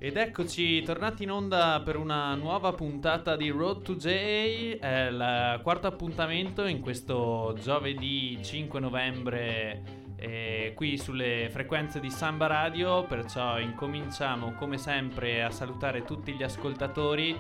Ed eccoci tornati in onda per una nuova puntata di Road to J. È il quarto appuntamento in questo giovedì 5 novembre qui sulle frequenze di Samba Radio. Perciò incominciamo come sempre a salutare tutti gli ascoltatori.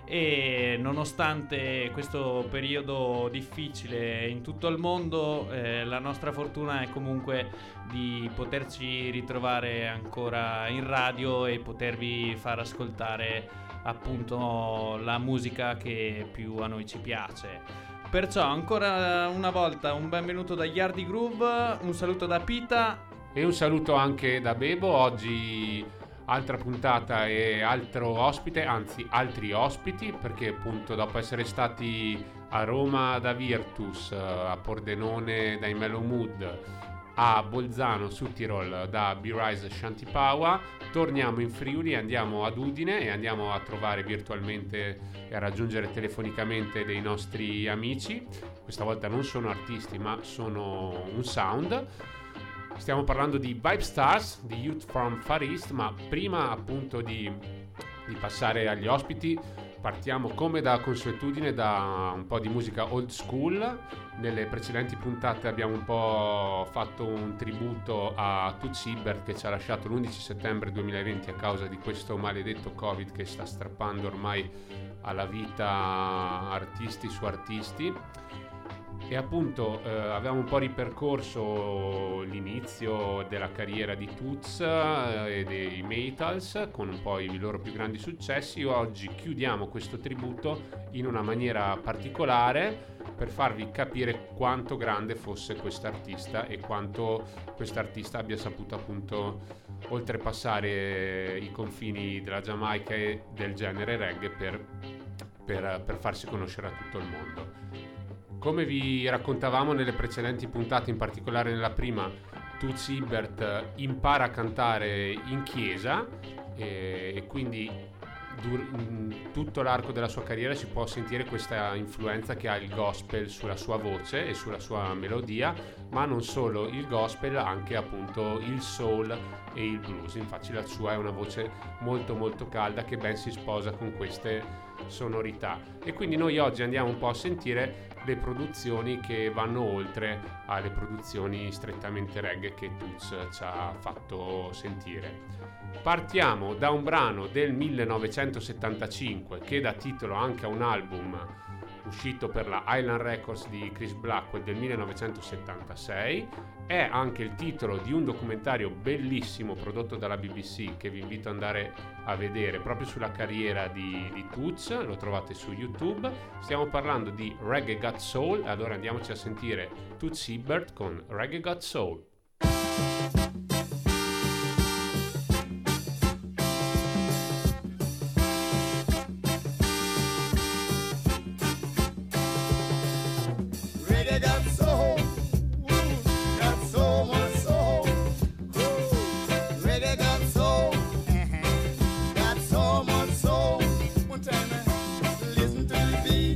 E nonostante questo periodo difficile in tutto il mondo, la nostra fortuna è comunque di poterci ritrovare ancora in radio e potervi far ascoltare appunto la musica che più a noi ci piace. Perciò ancora una volta un benvenuto da Yardi Groove, un saluto da Pita e un saluto anche da Bebo. Oggi altra puntata e altro ospite, anzi altri ospiti, perché appunto dopo essere stati a Roma da Virtus, a Pordenone dai Mellow Mood, a Bolzano su Tirol da B-Rise Shantipawa, torniamo in Friuli, andiamo ad Udine e andiamo a trovare virtualmente e a raggiungere telefonicamente dei nostri amici. Questa volta non sono artisti ma sono un sound. Stiamo parlando di Vibe Stars, di Youth from Far East, ma prima appunto di passare agli ospiti partiamo come da consuetudine da un po' di musica old school. Nelle precedenti puntate abbiamo un po' fatto un tributo a Toots Hibbert, che ci ha lasciato l'11 settembre 2020 a causa di questo maledetto Covid che sta strappando ormai alla vita artisti su artisti. E appunto avevamo un po' ripercorso l'inizio della carriera di Toots e dei Maytals con un po' i loro più grandi successi. Oggi chiudiamo questo tributo in una maniera particolare per farvi capire quanto grande fosse quest'artista e quanto quest'artista abbia saputo appunto oltrepassare i confini della Giamaica e del genere reggae per farsi conoscere a tutto il mondo. Come vi raccontavamo nelle precedenti puntate, in particolare nella prima, Toots Hibbert impara a cantare in chiesa e quindi tutto l'arco della sua carriera si può sentire questa influenza che ha il gospel sulla sua voce e sulla sua melodia, ma non solo il gospel, anche appunto il soul e il blues. Infatti la sua è una voce molto molto calda che ben si sposa con queste sonorità, e quindi noi oggi andiamo un po' a sentire le produzioni che vanno oltre alle produzioni strettamente reggae che Toots ci ha fatto sentire. Partiamo da un brano del 1975 che dà titolo anche a un album uscito per la Island Records di Chris Blackwell del 1976. È anche il titolo di un documentario bellissimo prodotto dalla BBC che vi invito ad andare a vedere proprio sulla carriera di Toots, lo trovate su YouTube. Stiamo parlando di Reggae Got Soul, allora andiamoci a sentire Toots Hibbert con Reggae Got Soul.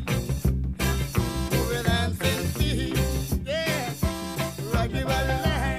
Give a land.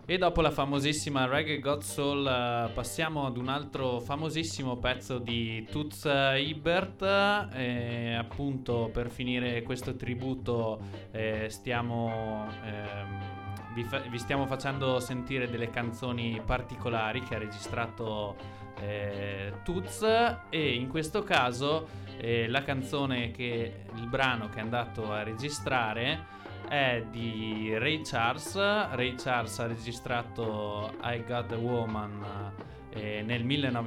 E dopo la famosissima Reggae God Soul passiamo ad un altro famosissimo pezzo di Toots Hibbert. Appunto, per finire questo tributo vi stiamo facendo sentire delle canzoni particolari che ha registrato Toots, e in questo caso il brano che è andato a registrare è di Ray Charles. Ray Charles ha registrato I Got a Woman nel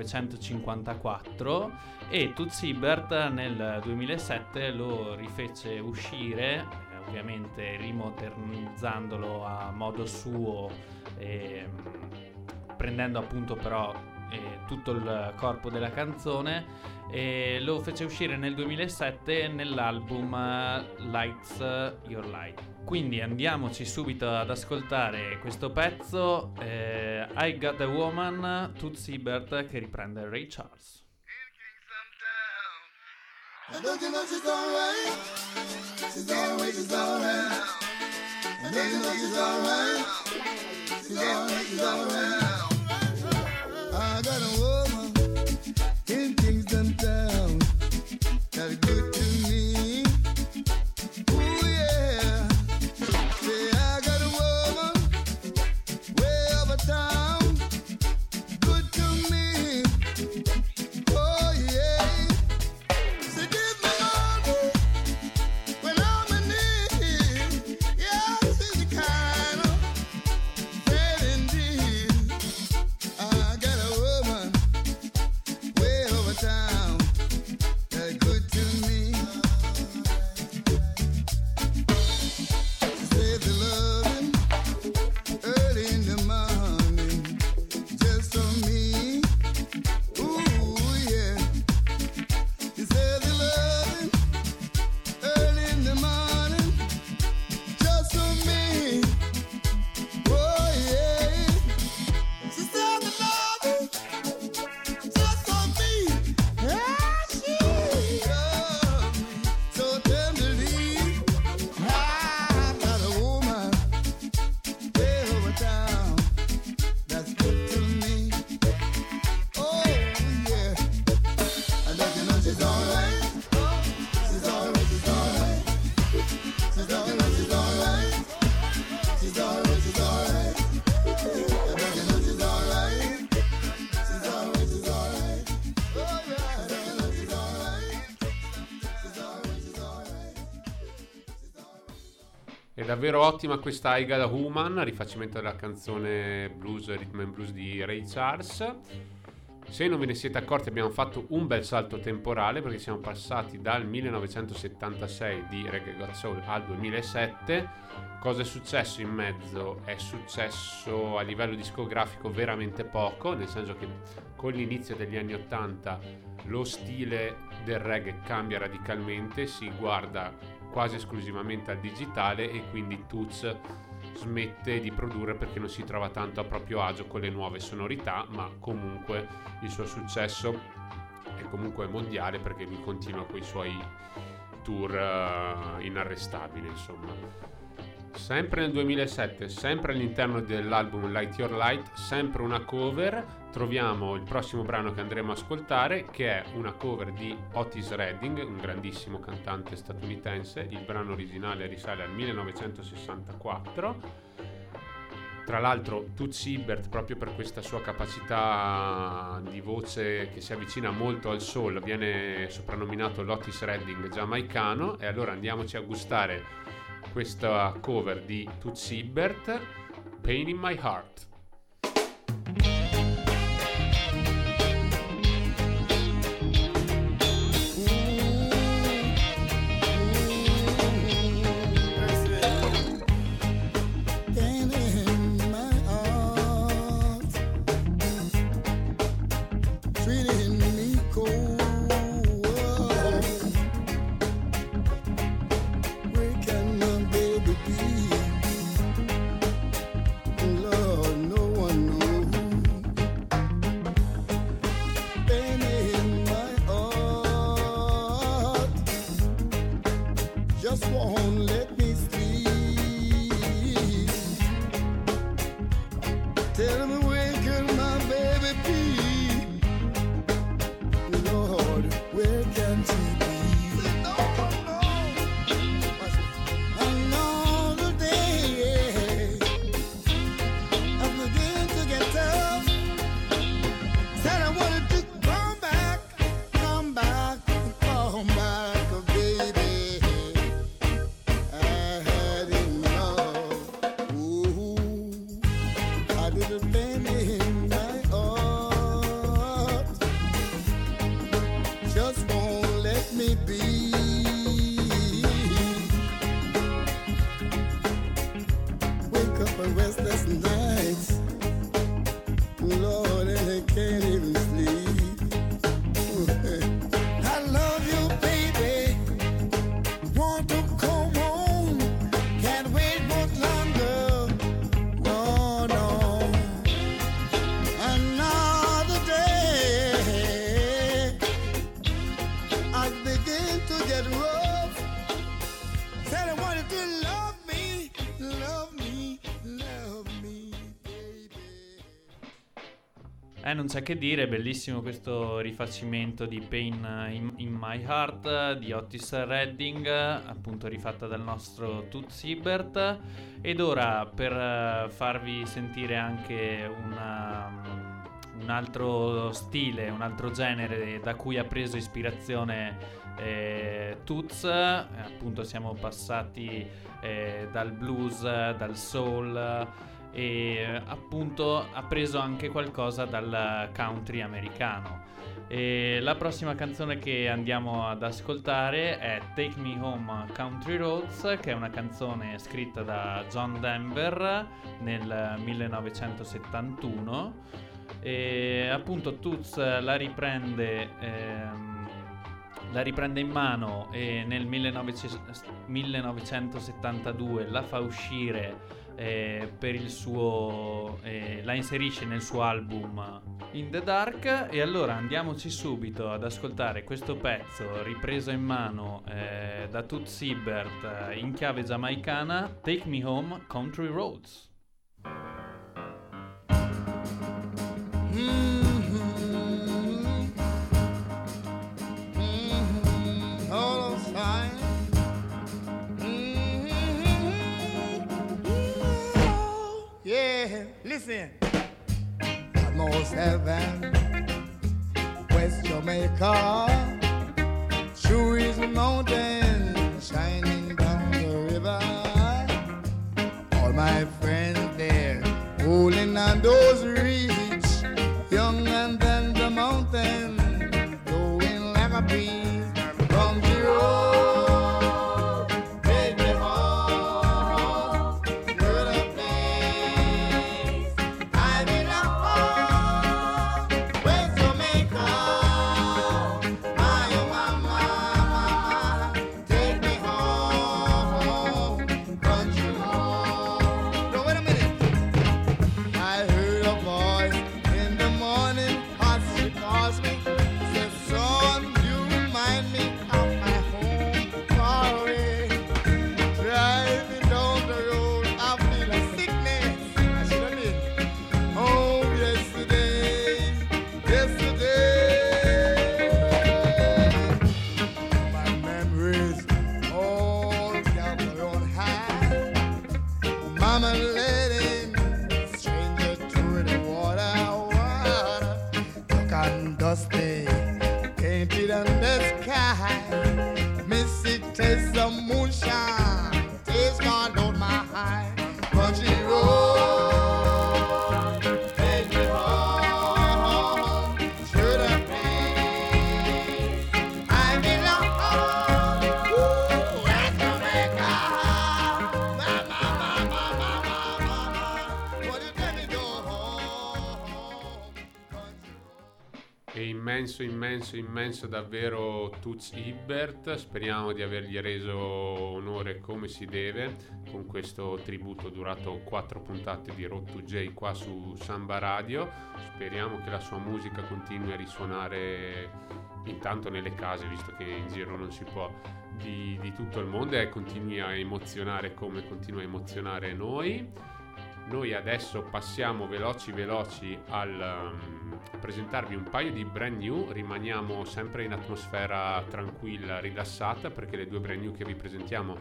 1954 e Toots Hibbert nel 2007 lo rifece uscire, ovviamente rimodernizzandolo a modo suo, prendendo appunto però tutto il corpo della canzone, e lo fece uscire nel 2007 nell'album Lights Your Light. Quindi andiamoci subito ad ascoltare questo pezzo, I Got a Woman, Toots Hibbert, che riprende Ray Charles. And don't you know she's alright? She's alright, she's alright. And don't you know she's alright? She's alright, she's alright. I got a woman in Kingston Town that's good to me. Ooh yeah. Say I got a woman way over town, good to me. Oh yeah. So give me money when I'm in need. Yeah, she's the kind of friend indeed. I got a woman way over town that's good to me. She says the loving early in the morning just for me. Ooh yeah. She says the loving early in the morning just for me. Oh yeah. She said the loving just for me. Yeah, she loves me so tenderly. I've got a woman way over town that's good to me. Oh yeah. And don't you know she's alright? She's alright, she's alright. She's alright, she's alright. She's alright, she's alright. And don't you know she's alright? She's alright, she's alright. Oh yeah. And don't you know she's alright? She's alright, she's alright. È davvero ottima questa I Got a Woman, rifacimento della canzone blues, rhythm and blues di Ray Charles. Se non ve ne siete accorti, abbiamo fatto un bel salto temporale, perché siamo passati dal 1976 di Reggae God Soul al 2007. Cosa è successo in mezzo? È successo a livello discografico veramente poco, nel senso che con l'inizio degli anni 80 lo stile del reggae cambia radicalmente, si guarda quasi esclusivamente al digitale e quindi Toots smette di produrre perché non si trova tanto a proprio agio con le nuove sonorità, ma comunque il suo successo è comunque mondiale, perché lui continua con i suoi tour inarrestabili, insomma. Sempre nel 2007, sempre all'interno dell'album Light Your Light, sempre una cover, troviamo il prossimo brano che andremo a ascoltare, che è una cover di Otis Redding, un grandissimo cantante statunitense. Il brano originale risale al 1964. Tra l'altro Toots Hibbert, proprio per questa sua capacità di voce che si avvicina molto al soul, viene soprannominato l'Otis Redding giamaicano. E allora andiamoci a gustare questa cover di Toots Hibbert, Pain in My Heart. Lord Non c'è che dire, bellissimo questo rifacimento di Pain in My Heart di Otis Redding, appunto rifatta dal nostro Toots Hibbert. Ed ora, per farvi sentire anche un altro stile, un altro genere da cui ha preso ispirazione Toots, appunto siamo passati dal blues, dal soul, e appunto ha preso anche qualcosa dal country americano. E la prossima canzone che andiamo ad ascoltare è Take Me Home Country Roads, che è una canzone scritta da John Denver nel 1971, e appunto Toots la riprende in mano e nel 1972 la fa uscire per il suo la inserisce nel suo album In the Dark. E allora andiamoci subito ad ascoltare questo pezzo ripreso in mano da Toots Hibbert in chiave giamaicana, Take Me Home Country Roads. Listen, almost heaven, West Jamaica, true is a mountain shining down the river. All my friends there, holding on those reeds, young and then the mountain, going like a breeze from the road. Immenso davvero Toots Hibbert. Speriamo di avergli reso onore come si deve con questo tributo durato 4 puntate di Road to J qua su Samba Radio. Speriamo che la sua musica continui a risuonare intanto nelle case, visto che in giro non si può, di tutto il mondo, e continui a emozionare come continua a emozionare noi. Noi adesso passiamo veloci a presentarvi un paio di brand new. Rimaniamo sempre in atmosfera tranquilla, rilassata, perché le due brand new che vi presentiamo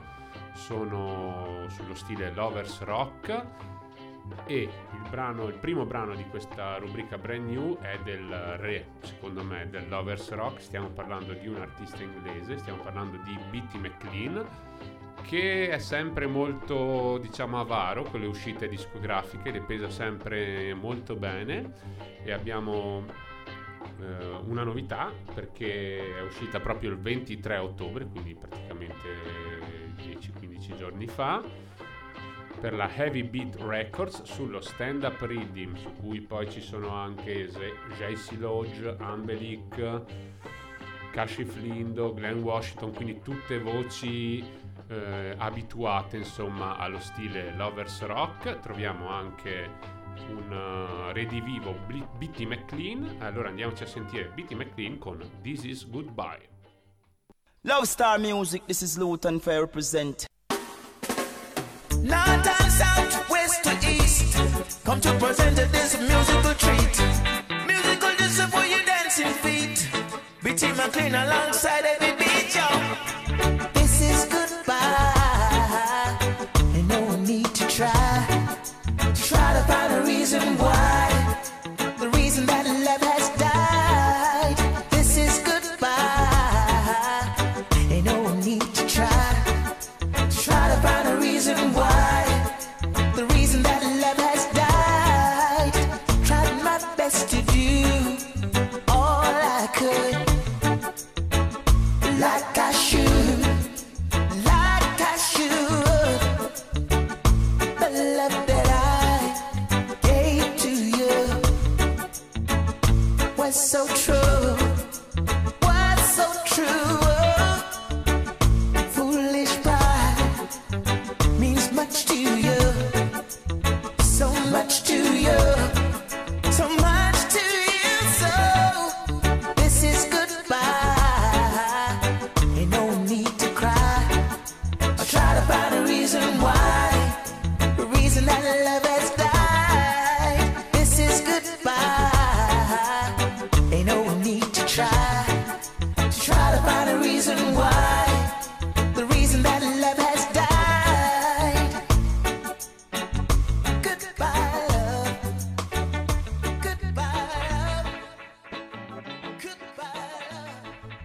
sono sullo stile Lovers Rock, e il primo brano di questa rubrica brand new è del re, secondo me, del Lovers Rock. Stiamo parlando di un artista inglese, stiamo parlando di Bitty McLean, che è sempre molto, diciamo, avaro con le uscite discografiche, le pesa sempre molto bene. E abbiamo una novità, perché è uscita proprio il 23 ottobre, quindi praticamente 10-15 giorni fa, per la Heavy Beat Records, sullo Stand Up Reading, su cui poi ci sono anche JC Lodge, Ambelic, Kashif Lindo, Glenn Washington, quindi tutte voci abituate insomma allo stile Lovers Rock. Troviamo anche un redivivo Bitty McLean. Allora andiamoci a sentire Bitty McLean con This Is Goodbye. Love Star Music, this is Luton Fair represent. North and south, west to east, come to present this musical treat. Music 7 feet. Bitty McLean alongside every beat, yo. This is goodbye. And no need to try to find a reason why. The reason that love has died. This is goodbye. And no need to try to find a reason why. The reason that love has died. Tried my best to do all I could, like I should, like I should. The love that I gave to you was so true, was so true. Foolish pride means much to you, so much to you, so much to you. So this is goodbye, and no need to cry or try to find a reason why. The reason that love has died. This is goodbye, ain't no need to try to find a reason why. The reason that love has died. Goodbye, love. Goodbye, love. Goodbye, love.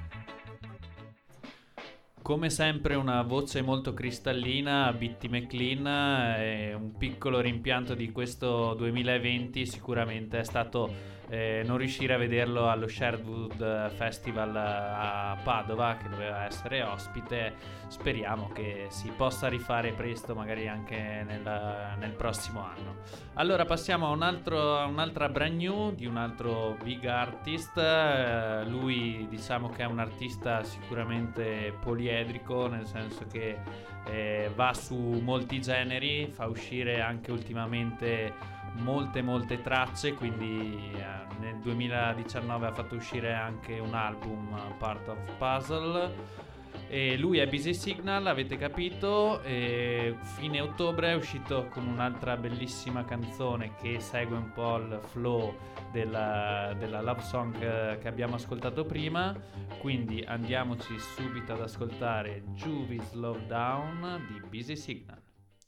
Come sempre una voce molto cristallina, Bitty McLean, e un piccolo rimpianto di questo 2020 sicuramente è stato non riuscire a vederlo allo Sherwood Festival a Padova, che doveva essere ospite. Speriamo che si possa rifare presto, magari anche nel prossimo anno. Allora passiamo a un'altra brand new di un altro big artist. Lui diciamo che è un artista sicuramente poliedrico, nel senso che va su molti generi, fa uscire anche ultimamente molte tracce, quindi nel 2019 ha fatto uscire anche un album, Part of Puzzle, e lui è Busy Signal, avete capito. E fine ottobre è uscito con un'altra bellissima canzone che segue un po' il flow della love song che abbiamo ascoltato prima, quindi andiamoci subito ad ascoltare Juvie Slow Down di Busy Signal.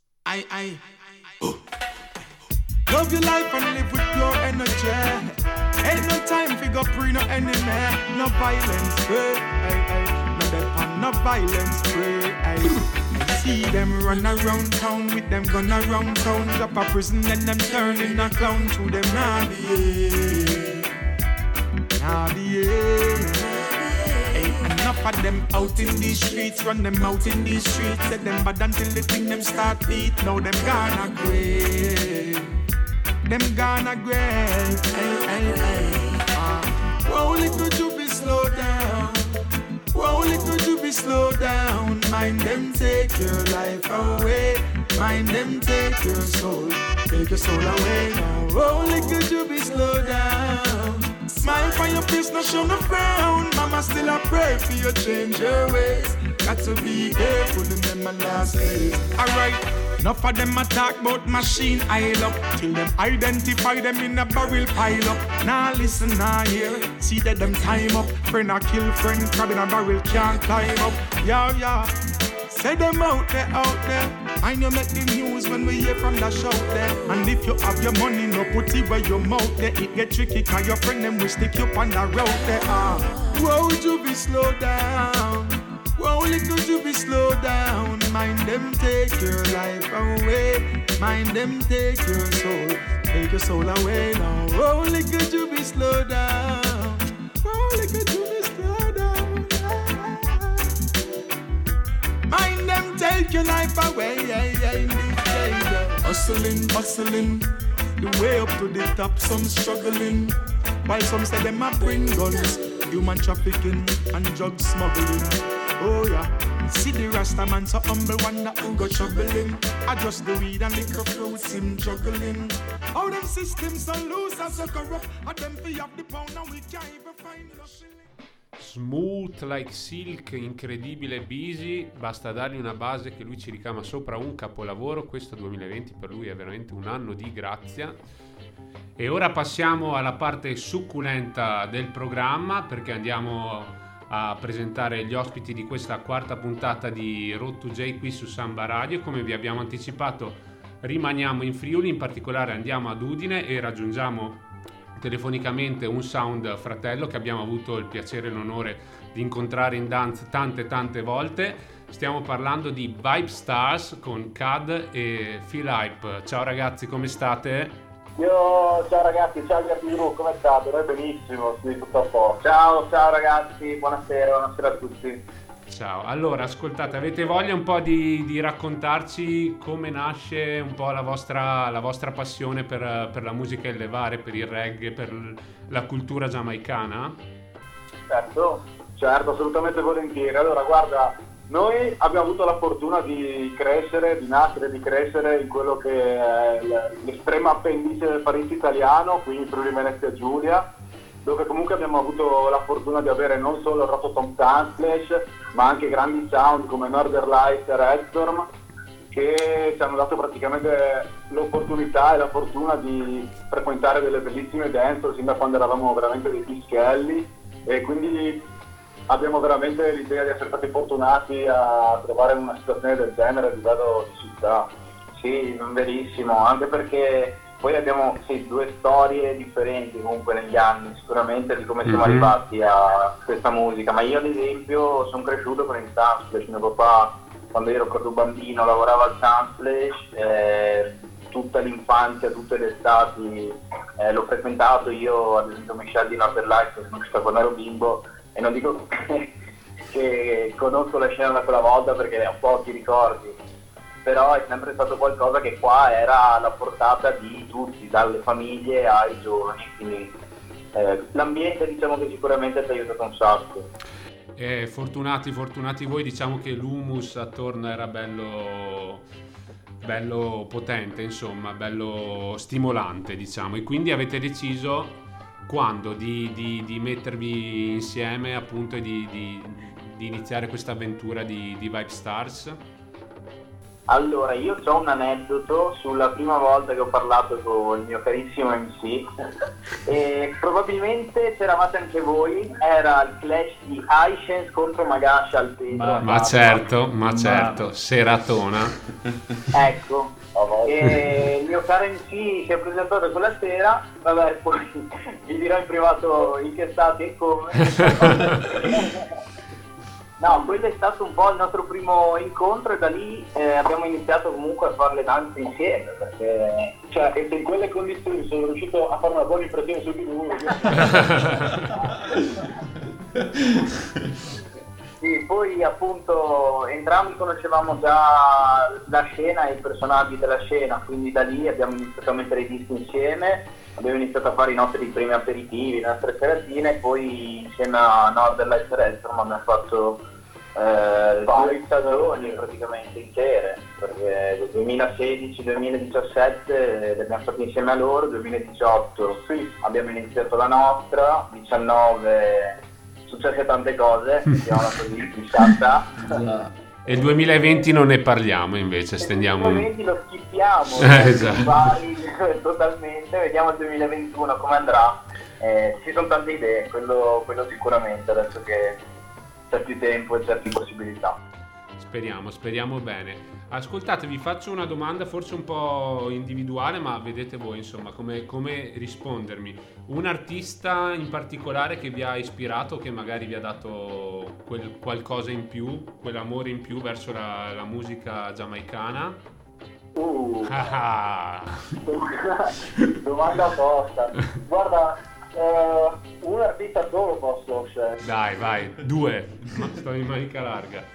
Love your life and live with your energy. Ain't no time for go pre no enemy. No violence free, no death and no violence free. See them run around town with them gun around town. Drop a prison and them turn in a clown. To them nah behave. Ain't enough of them out in these streets. Run them out in these streets. Set them bad until the thing them start beat. Now them gonna grave. Them gonna grave. Whoa, little Juvie, slow down. Whoa, little Juvie, slow down. Mind them take your life away. Mind them take your soul. Take your soul away now. Whoa, little Juvie, slow down. Smile for your face, no show no frown. Mama still a pray for you, change your ways. Got to be careful in them my last days. Alright, enough of them attack about machine aisle up. Till them identify them in a barrel pile up. Nah listen, nah hear. See that them time up. Friend a kill friend, crab in a barrel can't climb up. Yeah. Say them out there. I know make the news when we hear from the shout there. And if you have your money, no put it where your mouth there. It get tricky cause your friend them will stick you on the road there. Whoa, Juvie, slow down. Whoa, little Juvie, slow down. Mind them take your life away. Mind them take your soul. Take your soul away now. Whoa, little Juvie, slow down. Whoa, little Juvie, slow down. Mind them take your life away. Hustling. The way up to the top, some struggling. While some say them a bring guns. Human trafficking and drug smuggling. Oh yeah, see the Rasta man so humble, wonder who got trouble him. I just the weed and liquor fruits him juggling. All them systems so loose and so corrupt. And them fee up the pound and we can't even find no shilling. Smooth like silk, incredibile Busy, basta dargli una base che lui ci ricama sopra un capolavoro. Questo 2020 per lui è veramente un anno di grazia. E ora passiamo alla parte succulenta del programma, perché andiamo a presentare gli ospiti di questa quarta puntata di Road to J qui su Samba Radio. Come vi abbiamo anticipato, rimaniamo in Friuli, in particolare andiamo ad Udine e raggiungiamo telefonicamente un sound fratello che abbiamo avuto il piacere e l'onore di incontrare in dance tante volte. Stiamo parlando di Vibe Stars con Cad e Feel Hype. Ciao ragazzi, come state? Ciao ragazzi, ciao Garbino, come state? Noi benissimo, sì, tutto a posto. Ciao ragazzi, buonasera a tutti. Ciao, allora ascoltate, avete voglia un po' di raccontarci come nasce un po' la vostra passione per la musica e levare, per il reggae, per la cultura giamaicana? Certo, assolutamente volentieri. Allora guarda, noi abbiamo avuto la fortuna di nascere in quello che è l'estrema appendice del Paese italiano, quindi Friuli Venezia Giulia, dove comunque abbiamo avuto la fortuna di avere non solo il Rototom Sunsplash, ma anche grandi sound come Northern Lights e Redstorm, che ci hanno dato praticamente l'opportunità e la fortuna di frequentare delle bellissime dance sin da quando eravamo veramente dei pischelli, e quindi abbiamo veramente l'idea di essere stati fortunati a trovare una situazione del genere a livello di città. Sì, verissimo, anche perché poi abbiamo due storie differenti comunque negli anni, sicuramente, di come siamo arrivati a questa musica. Ma io ad esempio sono cresciuto con il Sunsplash. Mio papà, quando ero proprio bambino, lavorava al Sunsplash, tutta l'infanzia, tutte le estati l'ho frequentato. Io ad esempio mi scelsi in Northern Lights, sono cresciuto quando ero bimbo, e non dico che conosco la scena da quella volta perché ho pochi ricordi, però è sempre stato qualcosa che qua era alla portata di tutti, dalle famiglie ai giovani, quindi l'ambiente diciamo che sicuramente ti ha aiutato un sacco. Fortunati voi, diciamo che l'humus attorno era bello potente, insomma, bello stimolante, diciamo, e quindi avete deciso quando di mettervi insieme appunto e di iniziare questa avventura di Vibe Stars? Allora, io ho un aneddoto sulla prima volta che ho parlato con il mio carissimo MC e probabilmente c'eravate anche voi, era il clash di Aishen's contro Magasha al Pedro. Ma certo, seratona. Ecco, e il mio caro MC si è presentato quella sera, vabbè, poi vi dirò in privato in che stati e come. No, quello è stato un po' il nostro primo incontro e da lì abbiamo iniziato comunque a fare le danze insieme, perché e se in quelle condizioni sono riuscito a fare una buona impressione su di lui. Sì, poi appunto entrambi conoscevamo già la scena e i personaggi della scena, quindi da lì abbiamo iniziato a mettere i dischi insieme, abbiamo iniziato a fare i nostri primi aperitivi, le nostre seratine, e poi insieme a Northern Lights Redstorm abbiamo fatto 2 stagioni praticamente intere, perché 2016-2017 le abbiamo fatte insieme a loro, 2018 abbiamo iniziato la nostra, 2019 successe tante cose, diciamola così, E il 2020 non ne parliamo, invece stendiamo. Il 2020 lo schippiamo, esatto. Totalmente, vediamo il 2021 come andrà. Ci sono tante idee, quello sicuramente, adesso che c'è più tempo e c'è più possibilità. Speriamo bene. Ascoltate, vi faccio una domanda forse un po' individuale, ma vedete voi insomma come rispondermi. Un artista in particolare che vi ha ispirato, che magari vi ha dato quel qualcosa in più, quell'amore in più verso la musica giamaicana? Domanda tosta. Guarda, un artista solo posso scegliere. Dai, vai, 2, sto in manica larga.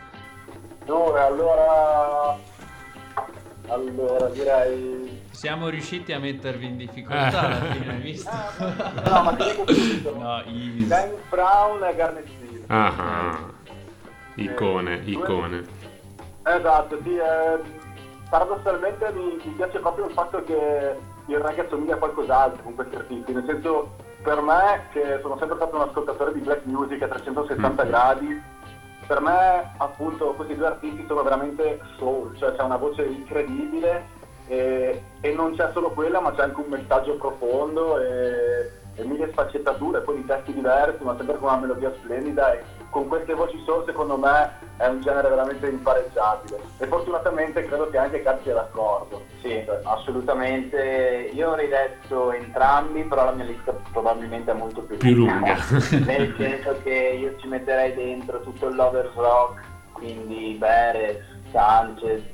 Allora direi siamo riusciti a mettervi in difficoltà alla fine, hai visto? No, ma ti dico subito. No, James Brown e Garnet Steele. Icone. Esatto, sì, paradossalmente mi piace proprio il fatto che il reggae assomiglia a qualcos'altro con questi artisti, nel senso, per me, che sono sempre stato un ascoltatore di black music a 360 gradi, per me appunto questi 2 artisti sono veramente soul, cioè c'è una voce incredibile e non c'è solo quella, ma c'è anche un messaggio profondo e mille sfaccettature, poi di testi diversi, ma sempre con una melodia splendida, e con queste voci solo secondo me è un genere veramente impareggiabile, e fortunatamente credo che anche Kat sia d'accordo. Sì, assolutamente. Io avrei detto entrambi, però la mia lista probabilmente è molto più lunga. Nel senso che io ci metterei dentro tutto il Lovers Rock, quindi Beres, Sanchez,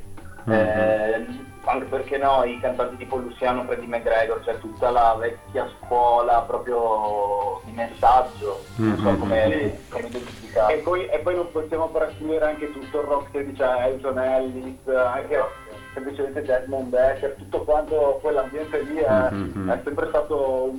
anche perché no, i cantanti tipo Luciano, Freddie McGregor, cioè tutta la vecchia scuola proprio di messaggio, non so come identificare. E poi non possiamo trasferire anche tutto il rock che dice Elton Ellis, anche semplicemente Desmond Decker, tutto quanto quell'ambiente lì è sempre stato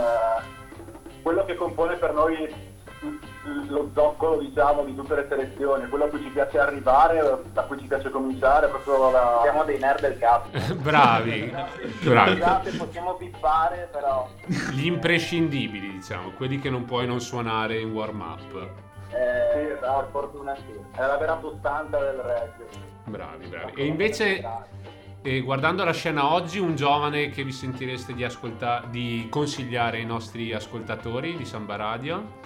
quello che compone per noi lo zoccolo, diciamo, di tutte le selezioni, quello a cui ci piace arrivare, da cui ci piace cominciare, proprio siamo dei nerd del cazzo. Bravi. Scusate, possiamo bippare, però Gli imprescindibili, diciamo, quelli che non puoi non suonare in warm up. sì, per fortuna sì, è la vera sostanza del reggae. Bravi. E invece, guardando la scena oggi, un giovane che vi sentireste di consigliare ai nostri ascoltatori di Samba Radio?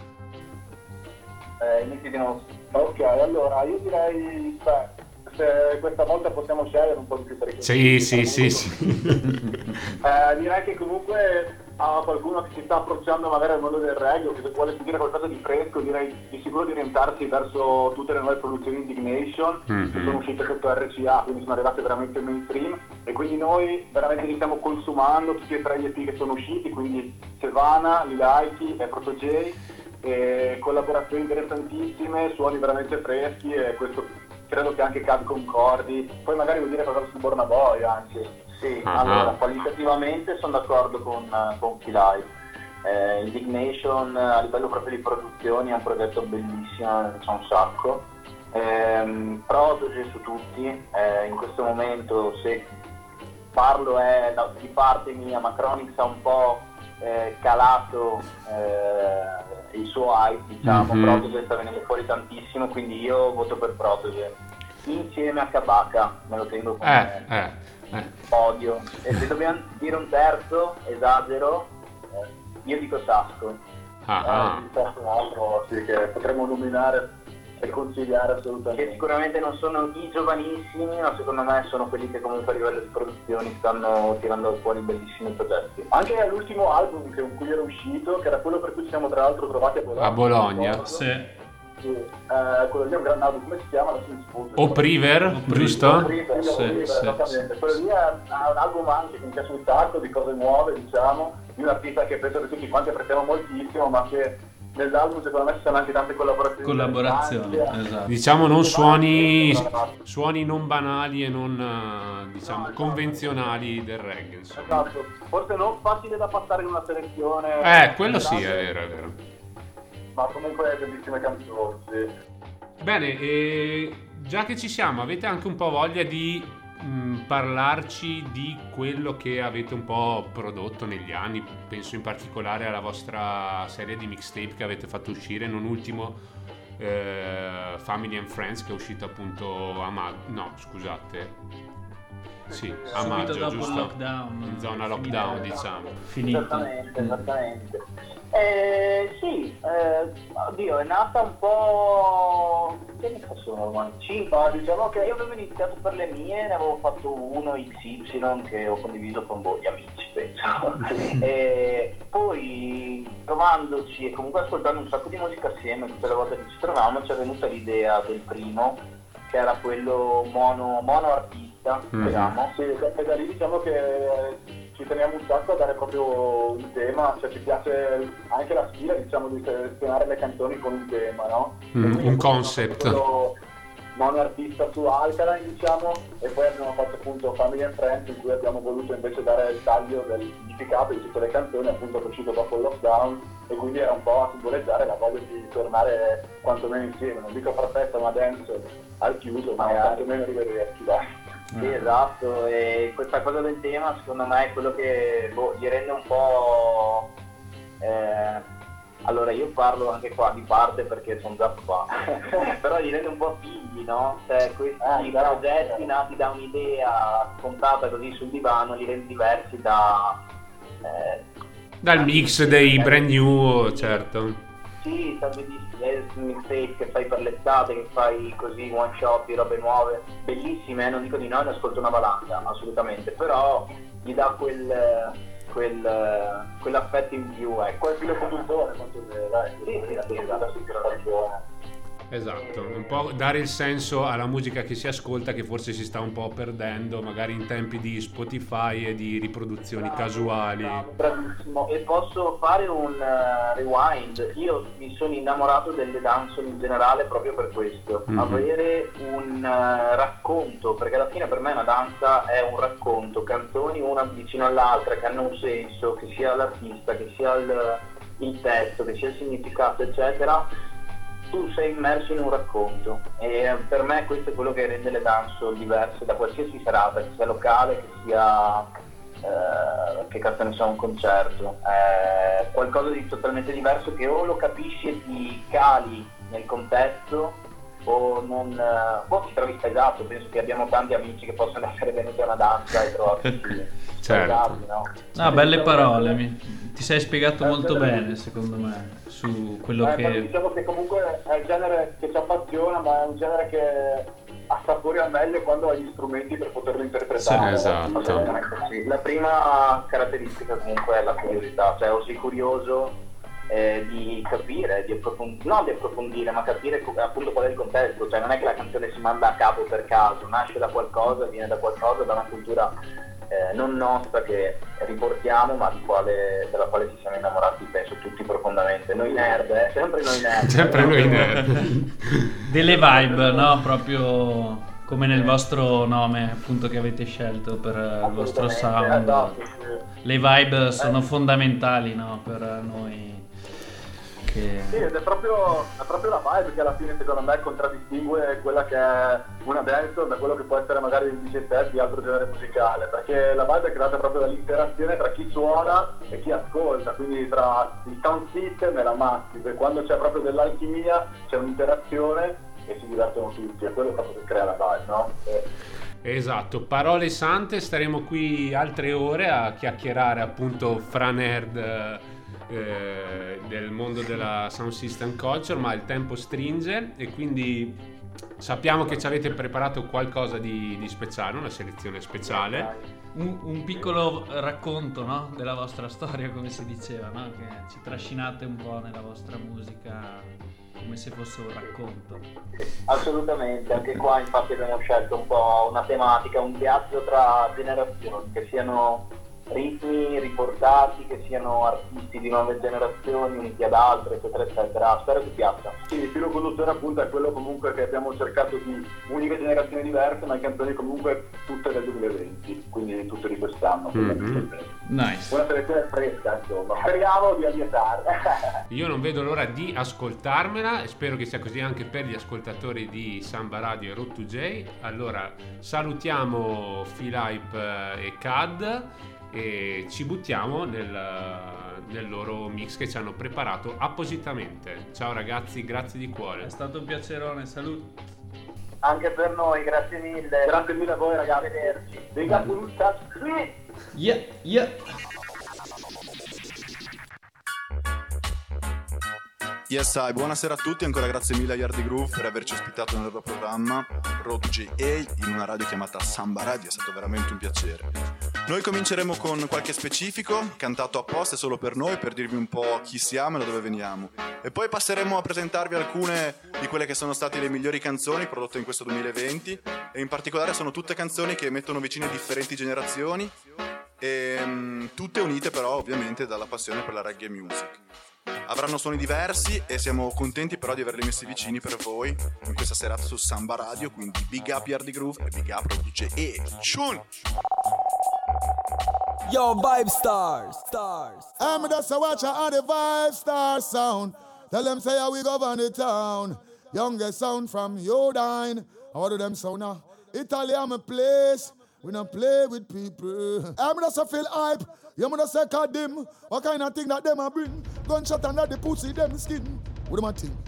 inizi di nuovo. Ok, allora io direi, se questa volta possiamo scegliere un po' di più per i Sì. direi che comunque a qualcuno che si sta approcciando magari al mondo del reggae o che vuole sentire qualcosa di fresco, direi di sicuro di orientarsi verso tutte le nuove produzioni Indignation che sono uscite sotto RCA, quindi sono arrivate veramente mainstream, e quindi noi veramente li stiamo consumando tutti e tre gli EP che sono usciti, quindi Sevana, Lilaiki e Proto J, collaborazioni interessantissime, suoni veramente freschi, e questo credo che anche Cad concordi. Poi magari vuol dire qualcosa su Borna Boy anche. Sì, allora qualitativamente sono d'accordo con Key Indignation a livello proprio di produzioni è un progetto bellissimo, ne c'è un sacco. Prodigy su tutti, in questo momento se parlo è di parte mia, ma Chronix ha un po' calato il suo hype, diciamo. Prodigy sta venendo fuori tantissimo, quindi io voto per Prodigy insieme a Kabaka, me lo tengo come podio. E se dobbiamo dire un terzo, esagero, io dico Sasco. Un terzo altro sì, che potremmo nominare e consigliare assolutamente. Che sicuramente non sono i giovanissimi, ma secondo me sono quelli che comunque a livello di produzioni stanno tirando fuori bellissimi progetti. Anche l'ultimo album con cui era uscito, che era quello per cui ci siamo tra l'altro trovati a Bologna. A Bologna, sì. Quello lì è un gran album, come si chiama? Adesso mi sfugge. Opriver, giusto? Opriver, esattamente. Quello lì è un album anche che mi piace un sacco, di cose nuove, diciamo, di un artista che penso che tutti quanti apprezziamo moltissimo, ma che nell'album secondo me ci sono anche tante collaborazioni, esatto. Diciamo non suoni non banali e non diciamo convenzionali del reggae, insomma. Esatto, forse non facile da passare in una selezione. Quello sì, è vero. Ma comunque bellissime canzoni, sì. Bene, già che ci siamo, avete anche un po' voglia di parlarci di quello che avete un po' prodotto negli anni? Penso in particolare alla vostra serie di mixtape che avete fatto uscire, non ultimo Family and Friends, che è uscito appunto a maggio, giusto? Lockdown, in zona lockdown, diciamo. Finito. Esattamente. Oddio, è nata un po'. Che ne sono ormai? 5, diciamo che io avevo iniziato per le mie, ne avevo fatto uno XY che ho condiviso con gli amici, penso. E poi trovandoci e comunque ascoltando un sacco di musica assieme, tutte le volte che ci trovavamo ci è venuta l'idea del primo, che era quello mono artista, diciamo. Sì, e da lì diciamo che ci teniamo un sacco a dare proprio un tema, cioè ci piace anche la stile, diciamo, di selezionare le canzoni con un tema, no? Un concept. Mono artista su Alkaline, diciamo, e poi abbiamo fatto appunto Family and Friends, in cui abbiamo voluto invece dare il taglio del significato di tutte le canzoni, appunto, che è uscito dopo il lockdown, e quindi era un po' a simboleggiare la voglia di tornare quantomeno insieme, non dico far festa, ma dance al chiuso, ma quantomeno rivederci, dai. Sì, esatto, e questa cosa del tema secondo me è quello che gli rende un po' Allora io parlo anche qua di parte perché sono già qua, però li rende un po' figli, no? Cioè questi progetti nati da un'idea scontata così sul divano li rende diversi dal mix dei brand new, certo. Sì, mixtape che fai per l'estate, che fai così one shot di robe nuove, bellissime, non dico di no, ne ascolto una valanga, assolutamente, però gli dà quell'affetto in più, quel filo conduttore, Esatto, un po' dare il senso alla musica che si ascolta, che forse si sta un po' perdendo, magari in tempi di Spotify e di riproduzioni casuali. Bravissimo. E posso fare un rewind? Io mi sono innamorato delle dancehall in generale proprio per questo, avere un racconto, perché alla fine per me una danza è un racconto, canzoni una vicino all'altra che hanno un senso, che sia l'artista, che sia il testo, che sia il significato, eccetera. Tu sei immerso in un racconto e per me questo è quello che rende le dancehall diverse da qualsiasi serata, che sia locale, che sia che cazzo ne so, un concerto, è qualcosa di totalmente diverso che o lo capisci e ti cali nel contesto o non ti trovi spaesato. Penso che abbiamo tanti amici che possono essere venuti a una danza e trovarsi spaesati, no? Belle parole, ti sei spiegato molto bene secondo me su quello che... Diciamo che comunque è il genere che ci appassiona, ma è un genere che assapori al meglio quando hai gli strumenti per poterlo interpretare. Sì, esatto. La prima caratteristica comunque è la curiosità, cioè o sei curioso di capire, non di approfondire, ma capire appunto qual è il contesto, cioè non è che la canzone si manda a capo per caso, nasce da qualcosa, viene da qualcosa, da una cultura non nostra che riportiamo, ma della quale ci siamo innamorati, penso tutti profondamente. Noi nerd, sempre noi nerd. Sempre noi nerd. Delle vibe, no? Proprio come nel vostro nome, appunto, che avete scelto per il vostro sound. Le vibe sono fondamentali, no? Per noi. Sì, ed è proprio la vibe che alla fine secondo me contraddistingue quella che è una dancehall da quello che può essere magari il DJ set di altro genere musicale, perché la vibe è creata proprio dall'interazione tra chi suona e chi ascolta, quindi tra il sound system e la massive, quando c'è proprio dell'alchimia c'è un'interazione e si divertono tutti, è quello proprio che crea la vibe, no? Esatto, parole sante, staremo qui altre ore a chiacchierare appunto fra nerd del mondo della sound system culture, ma il tempo stringe e quindi sappiamo che ci avete preparato qualcosa di speciale, una selezione speciale, un piccolo racconto, no? Della vostra storia, come si diceva, no? Che ci trascinate un po' nella vostra musica come se fosse un racconto. Assolutamente, anche qua infatti abbiamo scelto un po' una tematica, un viaggio tra generazioni, che siano ritmi riportati, che siano artisti di nuove generazioni uniti ad altre, eccetera eccetera. Spero che piaccia. Sì, il filo conduttore appunto è quello comunque che abbiamo cercato di unire generazioni diverse, ma canzoni comunque tutte del 2020, quindi tutte di quest'anno. Nice. Una selezione fresca, insomma. Speriamo di allietare. Io non vedo l'ora di ascoltarmela e spero che sia così anche per gli ascoltatori di Samba Radio e Road to J. Allora salutiamo Philippe e Cad e ci buttiamo nel loro mix che ci hanno preparato appositamente. Ciao ragazzi, grazie di cuore. È stato un piacerone, saluto. Anche per noi, grazie mille. Grazie mille a voi ragazzi. Arrivederci. Big up, Yeah. Yes, hi, buonasera a tutti, ancora grazie mille a Yardi Groove per averci ospitato nel loro programma Road to JA in una radio chiamata Samba Radio, è stato veramente un piacere. Noi cominceremo con qualche specifico, cantato apposta e solo per noi, per dirvi un po' chi siamo e da dove veniamo. E poi passeremo a presentarvi alcune di quelle che sono state le migliori canzoni prodotte in questo 2020 e in particolare sono tutte canzoni che mettono vicine differenti generazioni e tutte unite però ovviamente dalla passione per la reggae music. Avranno suoni diversi e siamo contenti però di averli messi vicini per voi in questa serata su Samba Radio, quindi big up Yardi Groove e big up Road to JA. Chun! Yo, Vibe Stars. I'm just a watcher of the Vibe Star sound. Tell them say how we govern the town. Youngest sound from Yodine. How do them sound now? Italy, I'm a place. We don't play with people. I'm just a feel hype. You must say Kadim. What kind of thing that them a bring? Gunshot under the pussy, them skin. What do I think?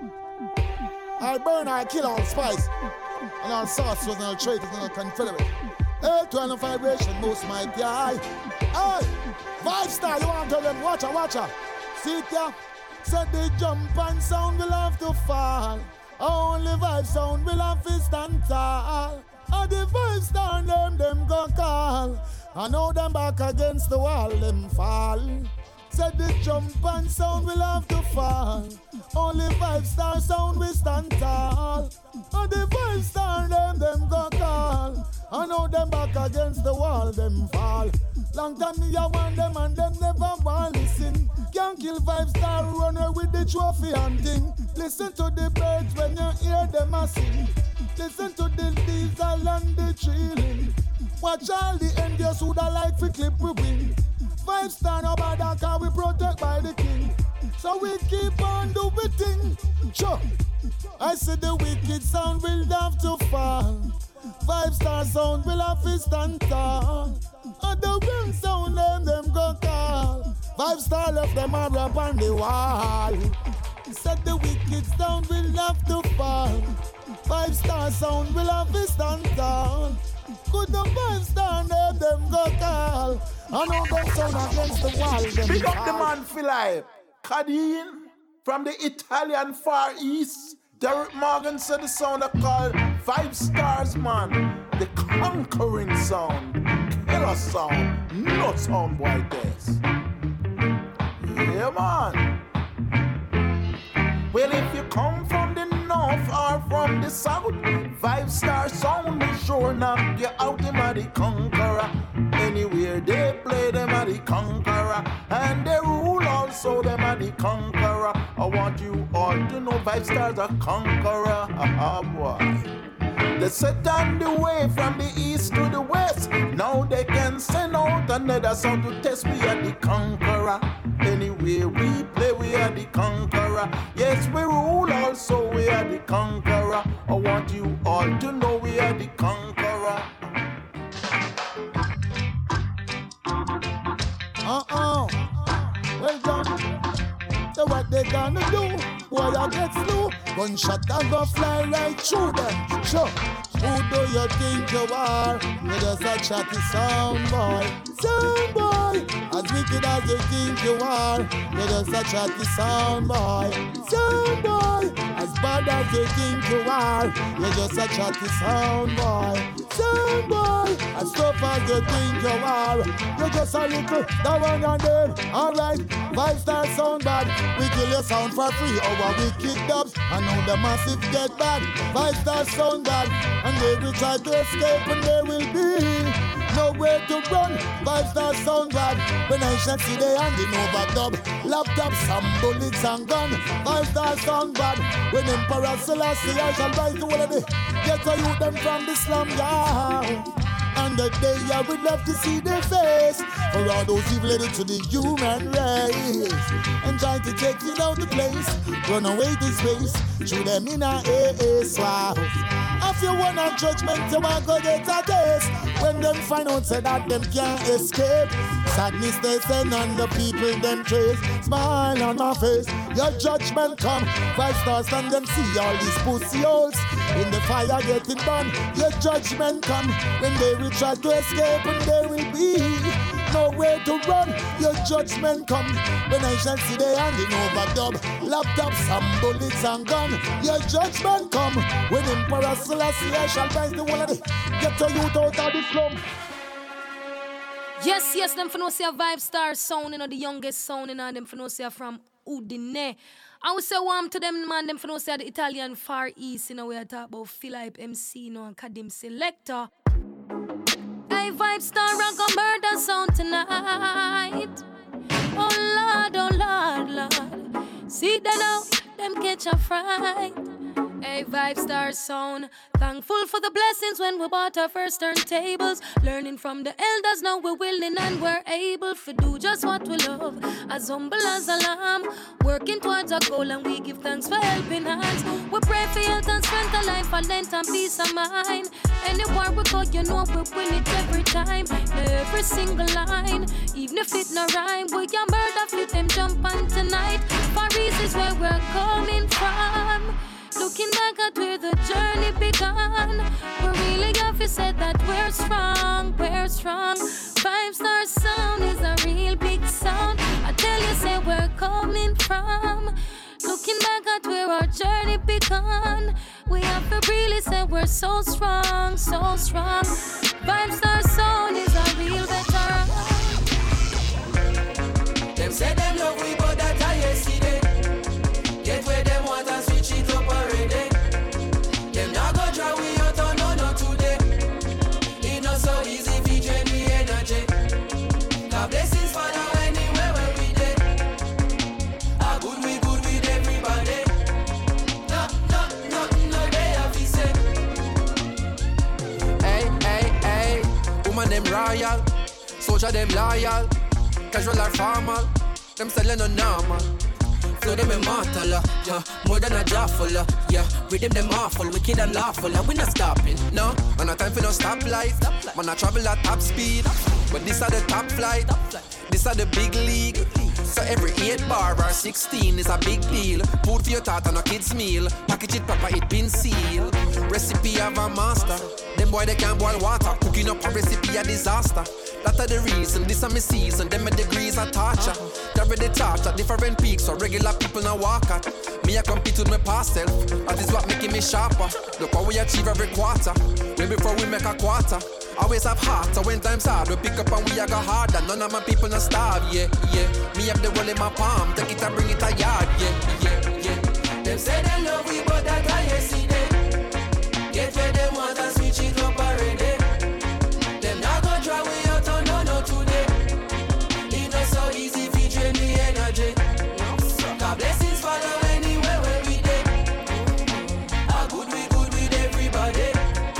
I burn, I kill all spice. And all sorcerers and all traitors and all confederate. 812 vibration, most mighty eye. Hey, 5 star, you want to tell them, watch her. See it ya? Said the jump and sound will have to fall. Only 5 sound will have to stand tall. And the 5 star them go call. I know them back against the wall, them fall. Said the jump and sound will have to fall. Only 5 star sound will stand tall. And the 5 star them go call. I know them back against the wall, them fall. Long time me I want them and them never want listen. Can't kill 5 star runner with the trophy hunting. Listen to the birds when you hear them a sing. Listen to the diesel and the chilling. Watch all the envious who da like fi clip we win. 5 star no bother cause we protect by the king. So we keep on do we thing. Sure. I said the wicked sound will have to fall. 5 star sound will have to stand tall. And the real sound them go call. 5 star left them a rap on the wall. Said the wicked sound will have to fall. 5 star sound will have to stand tall. Could the 5 star them go call. I know them sound against the wall. Big up the man for life. Kadeen from the Italian Far East. Derek Morgan said the sound I call 5 stars, man. The conquering sound. Killer sound. No sound boy this. Yeah, man. Well, if you come from the north or from the south, 5 star sound will sure knock you out. Them are the conqueror. Anywhere they play, them are the conqueror. And they rule also, them are the conqueror. I want you all to know 5 stars are conqueror. Ah, boy. They set on the way from the east to the west. Now they can send out another sound to test. We are the conqueror. Anywhere we play, we are the conqueror. Yes, we rule also, we are the conqueror. I want you all to know we are the conqueror. Well done. So what they gonna do? Boy, I get slow. Gunshot and go fly right through them. Sure. Who do you think you are? You're just a chatty sound boy. Sound boy. As wicked as you think you are. You're just a chatty sound boy. Sound boy. As bad as you think you are. You're just a chatty sound boy. Sound boy. As tough as you think you are. You're just a little that one and then. Alright, 5 star sound bad. We kill your sound for free. Our wicked dubs. I know the massive get bad. 5 star sound bad. And they will try to escape and there will be nowhere to run. 5 star sound bad. When I shall see they handing over dub. Laptops, some bullets and gun. 5 star sound bad. When Emperor Selassie I shall rise to one of the get a youth them from the slum yard. And the day I would love to see their face. For all those evil headed to the human race. And trying to take it out the place. Run away to space. Shoot them in a swap. If you want a judgment, you want to get a taste. When them find out say that them can't escape. Sadness they send on the people them trace. Smile on my face, your judgment come. 5 stars and them see all these pussy holes in the fire getting burned. Your judgment come when they will try to escape and there will be nowhere to run. Your judgment come when I shall see they handing over dub. Laptops, some bullets and gun. Your judgment come when Emperor Selassie I shall rise the one of the get a youth out of the slum. Yes, them for no say a 5 star sound, you know, the youngest sound, you know, them for no say from Udine. I would say warm to them, man, them for no say the Italian Far East, you know, we are talking about Philip MC, you know, and Kadim Selector. Hey, 5 star rock a murder sound tonight. Oh Lord, Lord. See that now, them catch a fright. Hey, great Vibe Star sound. Thankful for the blessings when we bought our first turntables. Learning from the elders, now we're willing and we're able to do just what we love. As humble as a lamb, working towards our goal, and we give thanks for helping hands. We pray for health and strength of life, for length and peace of mind. Anywhere we go, you know we win it every time. Every single line, even if it no rhyme, we can murder fit them jump on tonight. Paris is where we're coming from. Looking back at where the journey began, we really have to say that we're strong, we're strong. Vibe Star sound is a real big sound. I tell you, say we're coming from. Looking back at where our journey began, we have to really say we're so strong, so strong. Vibe Star sound is a real veteran. Them say them love we, but that I yesterday. Get where them want and switch it up already. Them not go try we out on no today. It not so easy if you drain me energy. God blessings Father anywhere where we dey. A good with everybody. No they have to say. Hey, woman them royal, soldier them loyal, casual or formal, them selling no normal. Flow them immortal, yeah, more than a jawful, yeah. Rhythm them awful, wicked and lawful, we not stopping, no. Man, no time for no stoplight. Man, I travel at top speed, but this are the top flight. This are the big league. So every 8 bar or 16 is a big deal. Food for your thought and a kid's meal. Package it proper, it been sealed. Recipe of a master. Them boy they can't boil water. Cooking up a recipe a disaster. That's the reason, this is my season. Them my degrees are torture. Carry the torch at different peaks, so regular people now walk at. Me I compete with my past self. That is what making me sharper. Look how we achieve every quarter. Way before we make a quarter. Always have heart, so when times hard, we pick up and we a go harder. None of my people not starve, yeah. Me have the world in my palm, take it and bring it a yard, yeah. Them say they love we, but that I yesterday. Get where them want and switch it up already. Them not go try we out on no today. It not so easy if you drain the energy. God blessings Father anywhere where we dey. A good with everybody.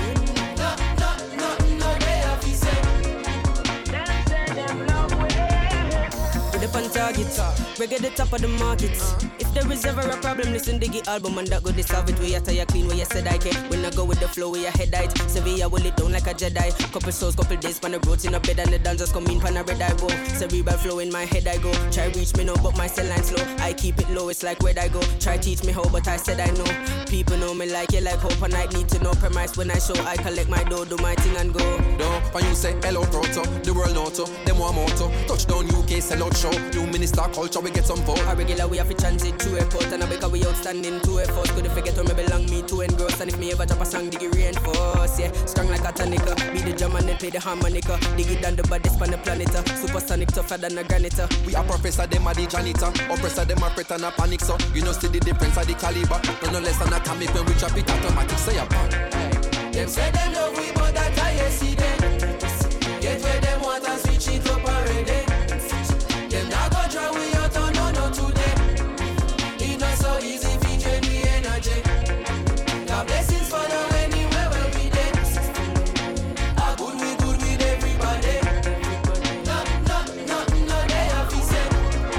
On target, reggae the top of the market. If there is ever a problem, listen to the album and that go solve it. We are tired clean, where you said I can. When I go with the flow, we are head height. Sevilla will it down like a Jedi. Couple souls, couple days, pan the roads in a bed and the dancers come in, pan a red I go. Cerebral flow in my head I go. Try reach me now, but my cell line slow. I keep it low, it's like where I go. Try teach me how, but I said I know. People know me like you like hope, and I need to know premise when I show. I collect my dough, do my thing and go. No, when you say hello, Proto, the world auto, them one moto. Touchdown UK, sell out show. New minister culture, we get some vote. A regular we have to transit through airport, and I because we outstanding to effort. Could forget where me belong, me to engross. And if me ever drop a song, dig it reinforce, yeah. Strong like a tonica, be the drum and then play the harmonica. Dig it down the baddest on the planet, supersonic tougher than a granite. We are professor, them are the janitor. Oppressor, them are threat and a panic, so you know see the difference of the caliber. No less than atomic when we drop it automatic, say apart. Them say them love we, but that I yesterday. Get where them want and switch it up already. Them not go try we out on no today. It not so easy if you drain the energy. God blessings for the anywhere where we dey. A good with everybody. No they have to say.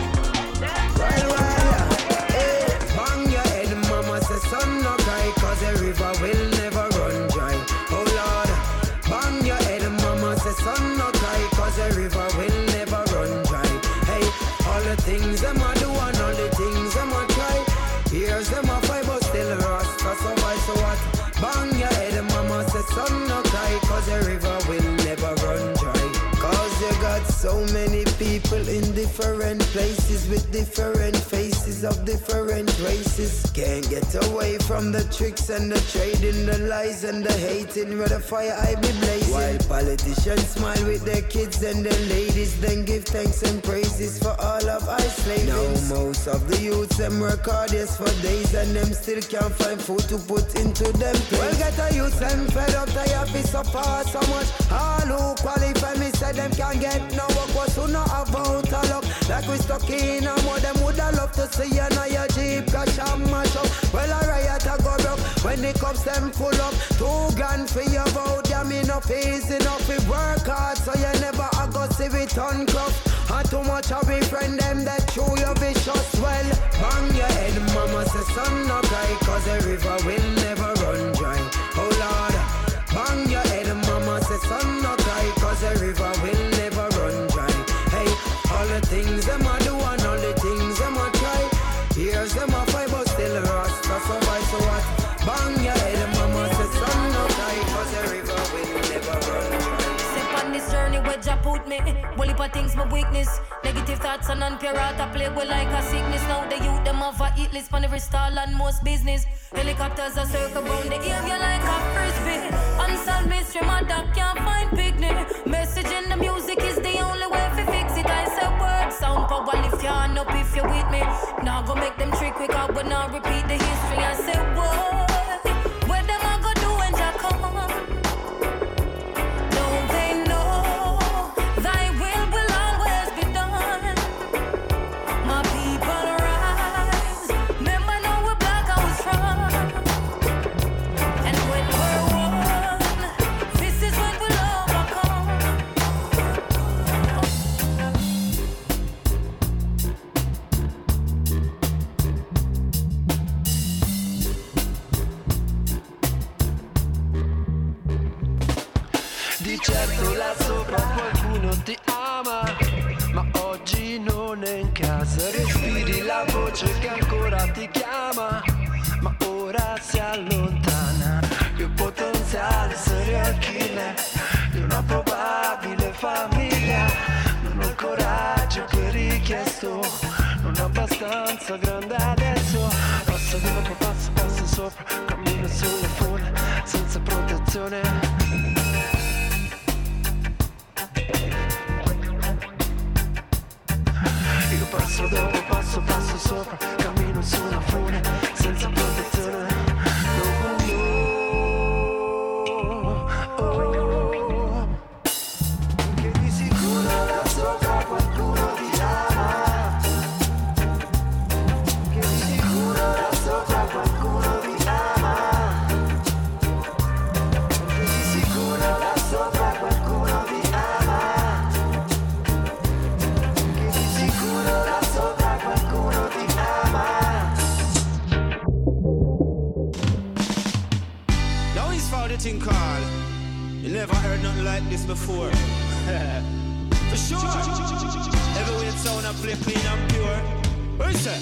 Hey, bang your head, mama say son no cry, cause the river will never run dry. Oh Lord, bang your head, mama say son no cry, cause the river will never run dry. All the things them a do and all the things them a try. Here's them a fight but still Rasta survive. So what? Bang your head, mama say son no cry, cause the river will never run dry. Cause you got so many people in different places with different faces of different races. Can't get away from the tricks and the trading, the lies and the hating, where the fire I be blazing. While politicians smile with their kids and their ladies, then give thanks and praises for all of our slaves. Now most of the youths them work hard yes for days, and them still can't find food to put into them plates. Well get a youth them fed up, they have to suffer so much. All who qualify me say them can't get no work, was who not have out a luck. Like we stuck in a mud, them woulda love to see you now your Jeep crash and mash up. Well a riot a go broke when when the cups them full up. 2 grand for your vote, yeah, me no easy enough. We work hard so you never a go see it uncuff. And too much of we friend them that show you vicious. Well, bang your head, mama say son no cry, cause the river will never run dry. Oh Lord, bang your head, mama say son no cry, cause the river will never run dry. Hey, all the things them a do and all the things them a try. Here's them a fight but still Rasta survive. So what? Bang your head, mama say son no cry, cause the river will never run dry. Sip on this journey where Jah put me. Bully for things my weakness. Negative thoughts and non-pure heart I play with like a sickness. Now the youth them have a hit list on every stall and most business. Helicopters are circle round the area like a frisbee. Unsolved mystery, my dog can't find picnic. Message in the music is the only way to fix it. I say word, sound power, lift your hand up if you're with me. Now go make them trick quick out, but now repeat the history. I say word, where them I go do when Jah come? Don't they know thy will always be done? My people rise, remember now we're black and we're strong. And when we're one, this is when we'll overcome. Di certo là sopra qualcuno ti ama, ma oggi non è in casa. Respiri la voce che ancora ti chiama, ma ora si allontana. Il potenziale serial killer di una probabile famiglia. Non ho il coraggio che ho richiesto, non abbastanza grande adesso. Passo dopo passo, passo sopra, cammino sulle fune senza protezione. Io passo dopo passo, passo sopra, cammino su una fune senza protezione. Che di sicuro là sopra qualcuno ti ama. Che di sicuro là sopra qualcuno ti ama. Che di sicuro là sopra qualcuno ti ama. Che di sicuro là sopra qualcuno ti ama. Now he's found it in call. You never heard nothing like this before. For sure. Every way it sound I play clean and pure. Where's that?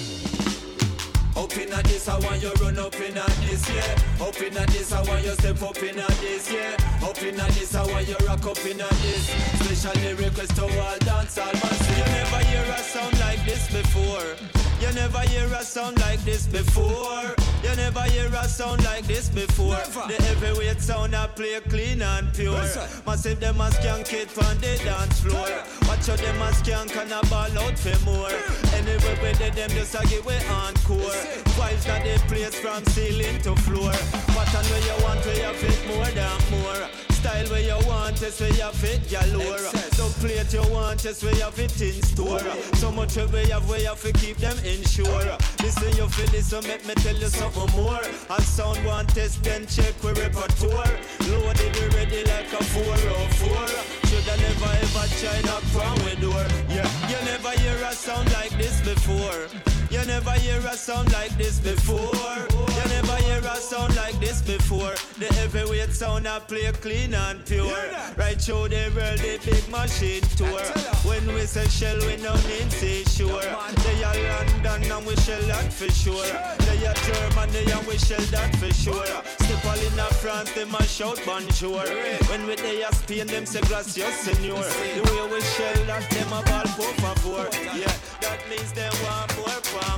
Up in a this, I want you run up in a this, yeah. Up in a this, I want you step up in a this, yeah. Up in a this, I want you rock up in a this. Special request to all dance all man. You never hear a sound like this before. You never hear a sound like this before. You never hear a sound like this before. The heavyweight sound I play clean and pure. Massive them a skank it on the dance floor. Watch out them a skank and a ball out for more. Anyway we did them just a give way encore. Vibes that they place from ceiling to floor. Pattern where you want where you fit more than more. Style where you want is where you fit galore. Don't plate you want is where you fit in store. So much where you have to keep them insured. Listen you feel this so make me tell you something more. And sound one test then check with repertoire. Loaded we ready like a 404. Shoulda never ever try knock from with door. Yeah, you never hear a sound like this before. You never hear a sound like this before. You never hear a sound like this before. The heavyweight sound I play clean and pure. Right through the world, the big machine tour. When we say shell, we no need say sure. They are London and we shell that for sure. They are Germany and we shell that for sure. Step all in a France, they must shout bonjour. When we they are Spain, them say gracias senor. The way we shell that, them a ball por favor. Yeah, that means they want more.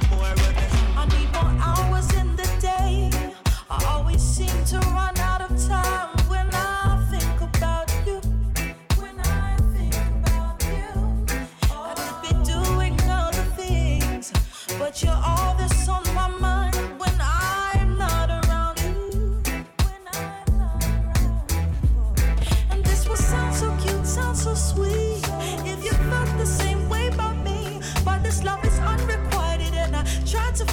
I need more hours in the day. I always seem to run out of time when I think about you. When I think about you, I could be doing other things, but you're all that's on my mind when I'm not around you. When I'm not around you. And this will sound so cute, sound so sweet. If you felt the same way about me, but this love is unrequited and I tried to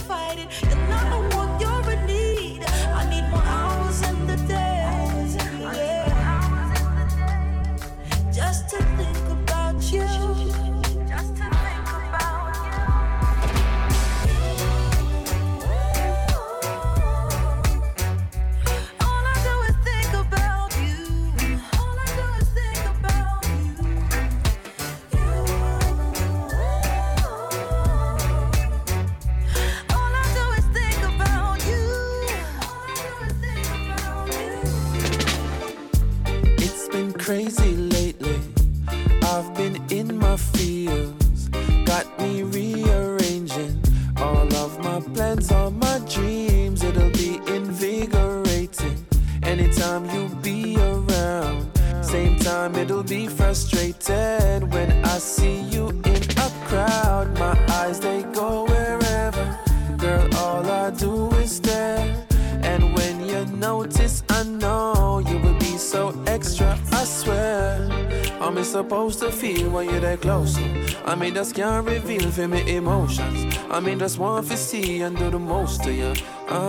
crazy lately. I've been in my feels, got me rearranging all of my plans, all my dreams. It'll be invigorating anytime you be around. Same time it'll be frustrated when I see you in a crowd. My eyes, they go wherever, girl, all I do is stare. And when you notice, I know you will be so extra, I swear. How me supposed to feel when you're that close? I mean, just can't reveal for me emotions. I mean, just want to see and do the most to you.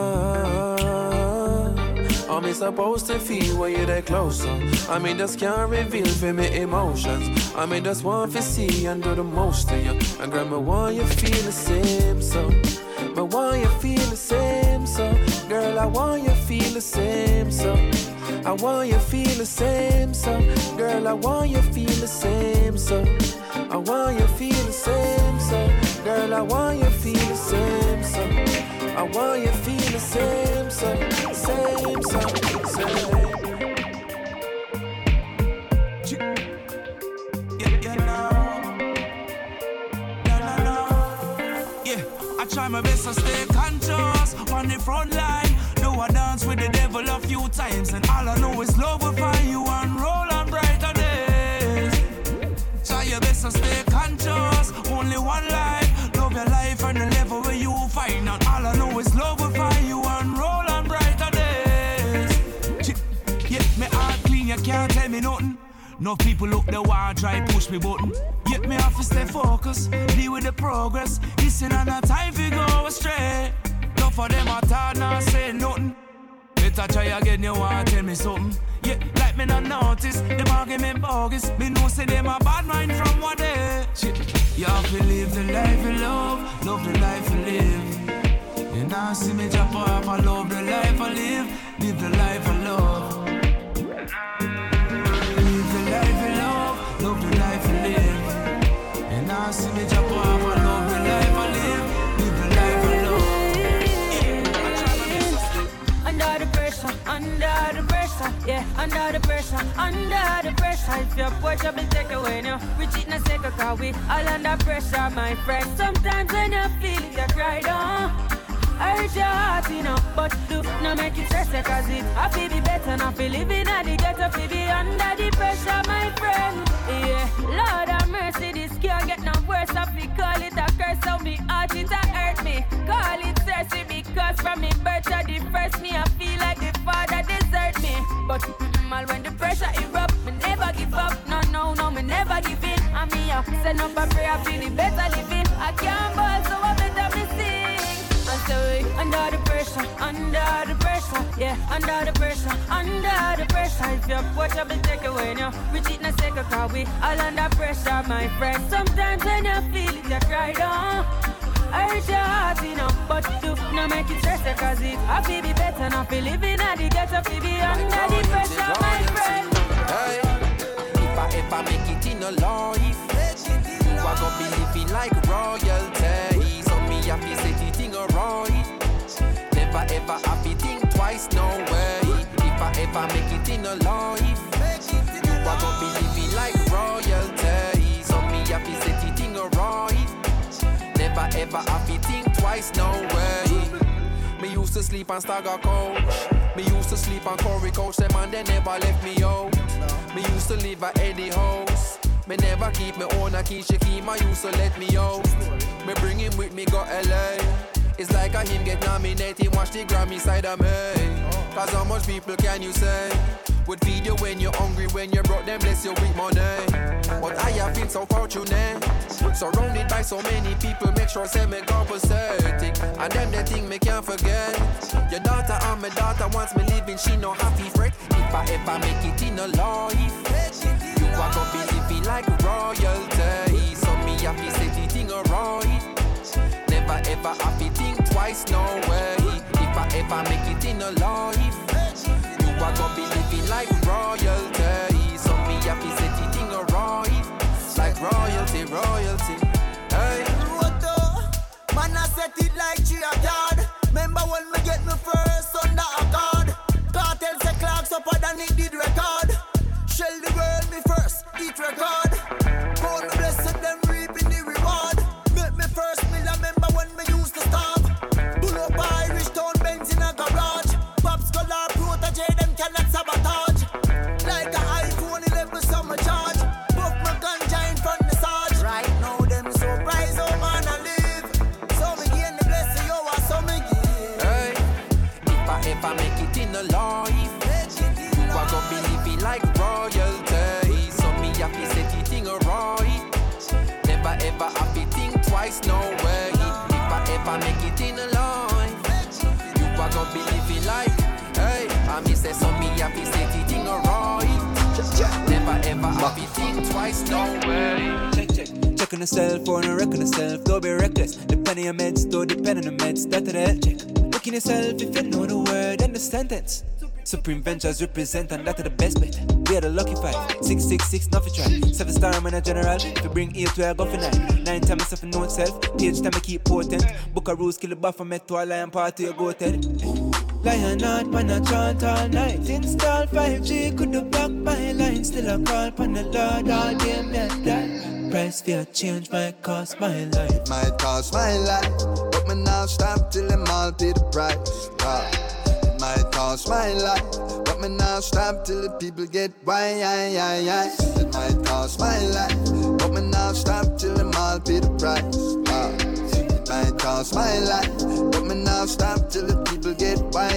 How me supposed to feel when you're that close? I mean, just can't reveal for me emotions. I mean, just want to see and do the most to you. And girl, me want you feel the same, so. Me want you feel the same, so. Girl, I want you feel the same, so. I want you feel the same, so. Girl, I want you feel the same, so. I want you feel the same, so. Girl, I want you feel the same, so. I want you feel the same, so. Same, so. Same. Try my best to stay conscious on the front line. Do I dance with the devil a few times, and all I know is love will find you and roll on brighter days. Try your best to stay conscious. Only one life. Love your life and the level where you find. And all I know is love will find you and roll on brighter days. Yeah, me heart clean, you can't tell me nothing. No people look the wall, try push me button. Yet me have to stay focused, deal with the progress. Listen on the time we go astray. No for them I thought not say nothing. Better try again, you want tell me something. Yeah, like me not notice, them argument bogus. Me know say them a bad mind from what they. You have to live the life you love the life you live. You now see me jump off, I love the life I live the life I love. Love the life I live. And now see me jump off, I love the life I live the life I love. I try my best to sleep. Under the pressure, yeah, under the pressure. If your pressure be take away now, we cheat na second cause we all under pressure, my friend. Sometimes when you feel it, you cry down. Hurt your heart, you know, but do not make it stress, cause it I feel be better, not feel living at the ghetto, feel be under the pressure, my friend. Yeah, Lord have mercy, this can't get no worse. I feel call it a curse, so me heart it a hurt me. Call it thirsty because from me birth to the first me, I feel like the father desert me. But all when the pressure erupt, me never give up. No, me never give in. And me send up a prayer, I feel it better living. I can't ball, so I better me sing. And so under the pressure, yeah, under the pressure. If your pressure be take away now, we cheat na second cause we all under pressure, my friend. Sometimes when you feel it, you cry down. Hurt your heart, you know, but do not make it stress, cause it I feel be better, not feel living at the ghetto, feel be under the pressure, my friend. Hey, if I ever make it in a life, you are gonna be living like royalty. So me happy set it in a right. Never ever happy think twice, no way. If I ever make it in a life, you are gonna be living like royalty. So me happy set it in a right. Never ever happy think twice, no way. Me used to sleep on Stagger Coach. Me used to sleep on Corey Coach. Them and they never left me out. Me used to live at Eddie House. Me never keep me own a key. Shakim, I used to let me out. Me bring him with me, go LA. It's like a him get nominated, watch the Grammy side of me. Cause how much people can you say would feed you when you're hungry, when you brought them bless you with money. But I have been so fortunate, surrounded by so many people, make sure say me compensating. And them the thing me can't forget. Your daughter and my daughter wants me living, she no happy fret. If I ever make it in a life, you are gonna be living like royalty. So me happy set it in a right. Never ever happy think twice, no way. If I ever make it in a life, you are gonna be living like royalty. So me happy set it in a right. Like royalty. Hey, Roto, man I set it like G-A-God. Remember when me get me first under a card. Cartel say clocks up and it did record. Shell the world make it in a life, you are gonna be living like royalty. So me happy set it thing right. Never ever happy think twice, no way. If I ever make it in a life, you are gonna be living like, hey. I me say so me happy set it thing right. Never ever happy think twice, no way. Check on yourself or no reckon yourself, don't be reckless. Depend on your meds, don't depend on the meds, that's the health check. Look in yourself if you know the word and the sentence. Supreme Ventures represent and that's the best bet. We are the lucky 5, 666, nothing try. 7-star I'm in a general, if you bring 8 to I go for 9. 9 times myself know itself, page time I keep potent. Book a rules, kill a buffer, met to a lion party, you go Ted. Lion out, man I chant all night. Install 5G, could do back my line. Still a call pan the Lord all day, me a die. Price for a change might cost my life. It might cost my life, but me now stop till them all pay the price. It might cost my life, but me now stop till the people get why. It might cost my life, but me now stop till them all pay the price. It might cost my life, but me now stop till the people get why.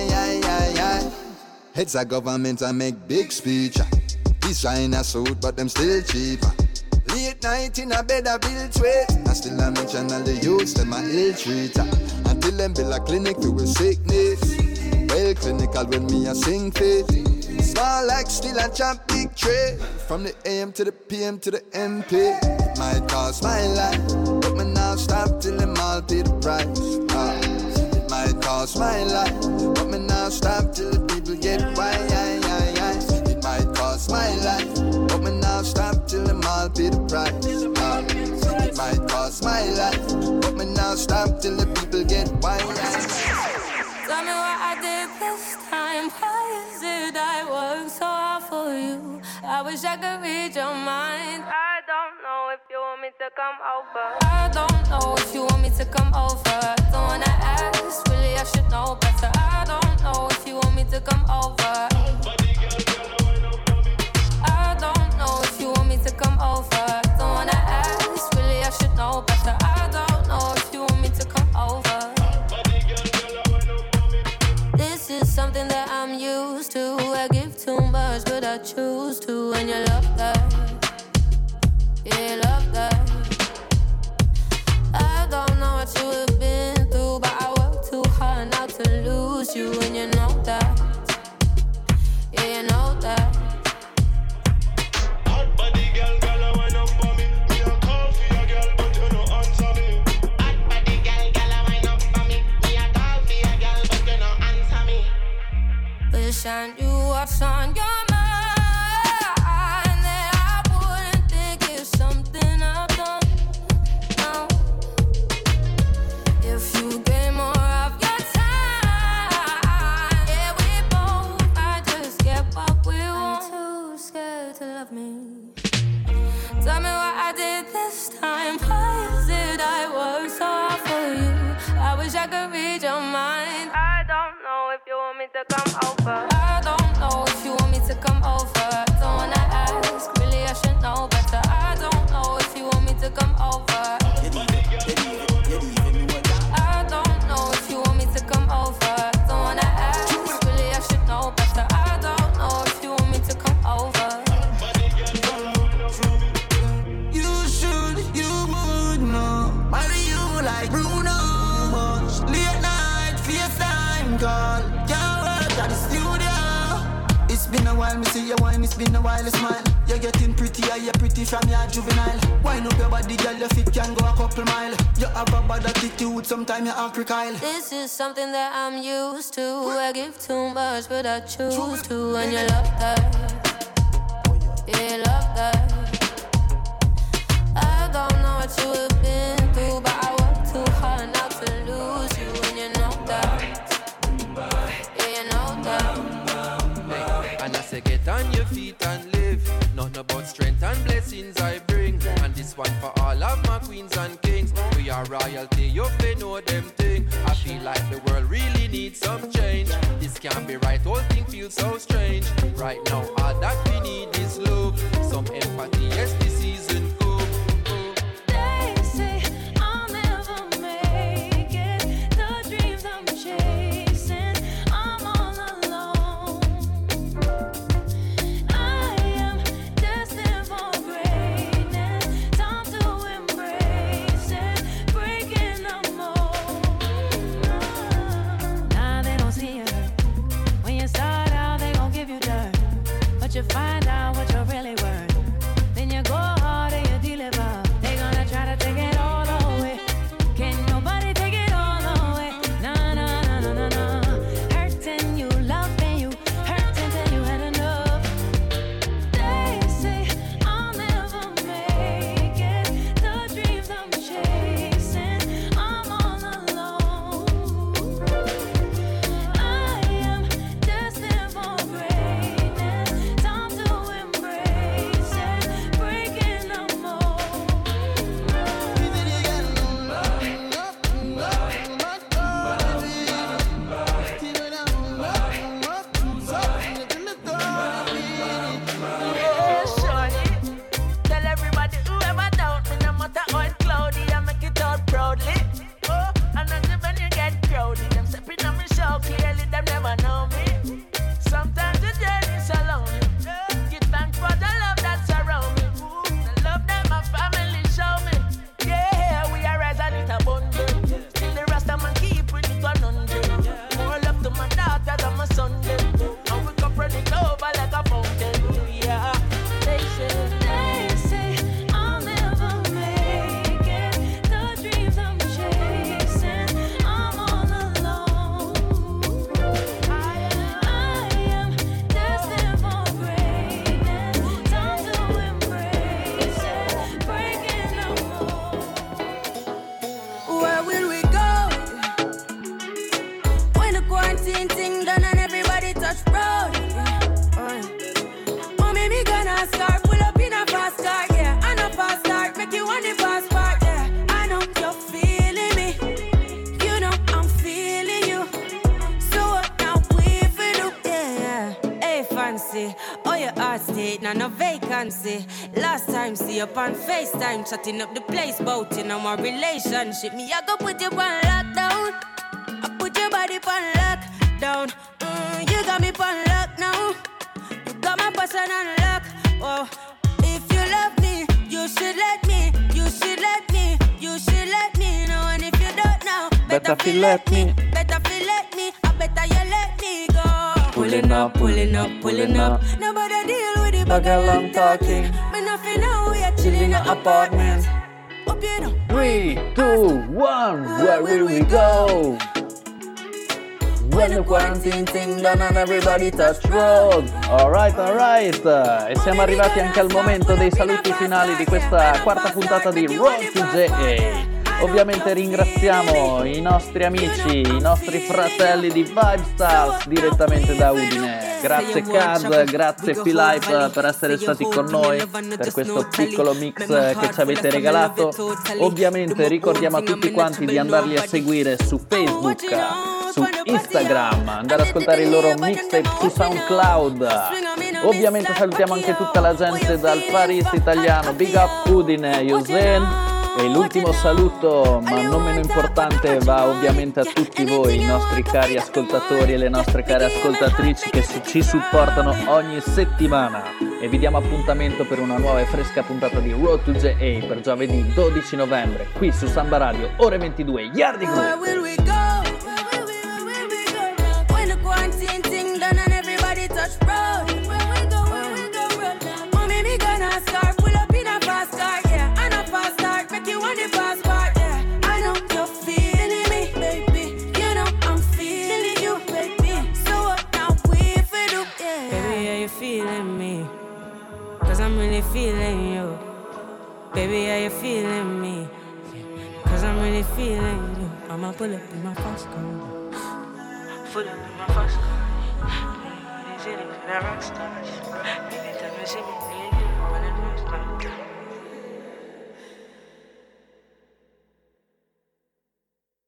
Heads of government I make big speech. Design a suit, but them still cheaper. Late night in a bed I build sweat. I still I mention all the youths, them a ill treater. Until them build a clinic for sickness. Well clinical when me a sing fit. Small like still a chop big tray. From the AM to the PM to the MP. It might cost my life, but me now stop till them all pay the price. It might cost my life, but me now stop till the people get why. It might cost my life, but me now stop till them all pay the price. It might cost my life, but me now stop till the people get why. Tell me what I did this time. Why is it I work so hard for you? I wish I could read your mind. I don't know if you want me to come over. I don't know if you want me to come over. Don't wanna ask, really I should know better. I don't know if you want me to come over. I don't know if you want me to come over. Don't wanna ask, really I should know better. I don't know if you want me to come over. This is something that I'm used to. I give too much, but I choose to. And you love that, yeah, you love that. I don't know what you have been through, but I work too hard not to lose you. And you know that, yeah, you know that. Hot body girl, girl, I wine up for me. Me a call for your girl, but you no answer me. Hot body girl, girl, I wine up for me. Me a call for your girl, but you no answer me. Wish I knew what's on your mind. That I wouldn't think it's something I've done. No. If you gave more of your time, yeah, we both might just get what we want. I'm too scared to love me. Tell me what I did this time. Why is it I work so hard for you? I wish I could read your mind. I don't know if you want me to come over. I don't know if you want me to come over. Don't wanna ask, really I should know better. I don't know if you want me to come over. I don't know if you want me to come over. Don't wanna ask, really I should know better. I don't know if you want me to come over. You should, you would know. Marry you like Bruno. Late night, FaceTime call. Can't work at the studio. It's been a while, me see you wine. It's been a while, you smile. You're getting prettier, you're pretty from your juvenile. Wine up your body, girl, your feet can go a couple mile. You have a bad attitude, sometimes you act crocodile. This is something that I'm used to. I give too much, but I choose to. And you love that, yeah, you love that. I don't know what you have been through, but I work too hard not to lose you. And you know that, yeah, you know that. And I say get on your feet and live. Nothing about strength and blessings I bring. And this one for all of my queens and kings. We are royalty, you fi know them thing. I feel like the world really needs some change. This can't be right, whole thing feels so strange. Right now all that we need is love. Some empathy, yes this season come. They say I'll never make it. The dreams I'm chasing, I'm all alone. your heart state, now no vacancy. Last time see you on FaceTime, chatting up the place, bout in our relationship. Me, I go put you on lockdown. I put your body on lockdown. You got me on lock now. You got my person on lock. Oh, if you love me, you should let me. You should let me. You should let me know. And if you don't know, better feel let me. Better feel let me. I better you let me go. Pulling up, pulling up, pulling up. Nobody deal with it, but girl, I'm talking. Me nothing know we are chilling in an apartment. Up you know. 3, 2, 1, where will we go? When the quarantine thing done and everybody touch road. Alright. E siamo arrivati anche al momento dei saluti finali di questa quarta puntata di Road to JA. Ovviamente ringraziamo i nostri amici, i nostri fratelli di Vibestars direttamente da Udine. Grazie Kaz, grazie Philippe per essere stati con noi per questo piccolo mix che ci avete regalato. Ovviamente ricordiamo a tutti quanti di andarli a seguire su Facebook, su Instagram, andare ad ascoltare il loro mixtape su SoundCloud. Ovviamente salutiamo anche tutta la gente dal Far East italiano, Big Up Udine, Yusen. E l'ultimo saluto, ma non meno importante, va ovviamente a tutti voi, i nostri cari ascoltatori e le nostre care ascoltatrici che ci supportano ogni settimana. E vi diamo appuntamento per una nuova e fresca puntata di Road to JA per giovedì 12 novembre, qui su Samba Radio, ore 22, Yardi Group. Feeling you, baby, are you feeling me? Cause I'm really feeling you. I'ma pull up in my fast car. Pull up in my fast car. These cities, they're rock stars. Anytime you see me, feeling you. When it moves,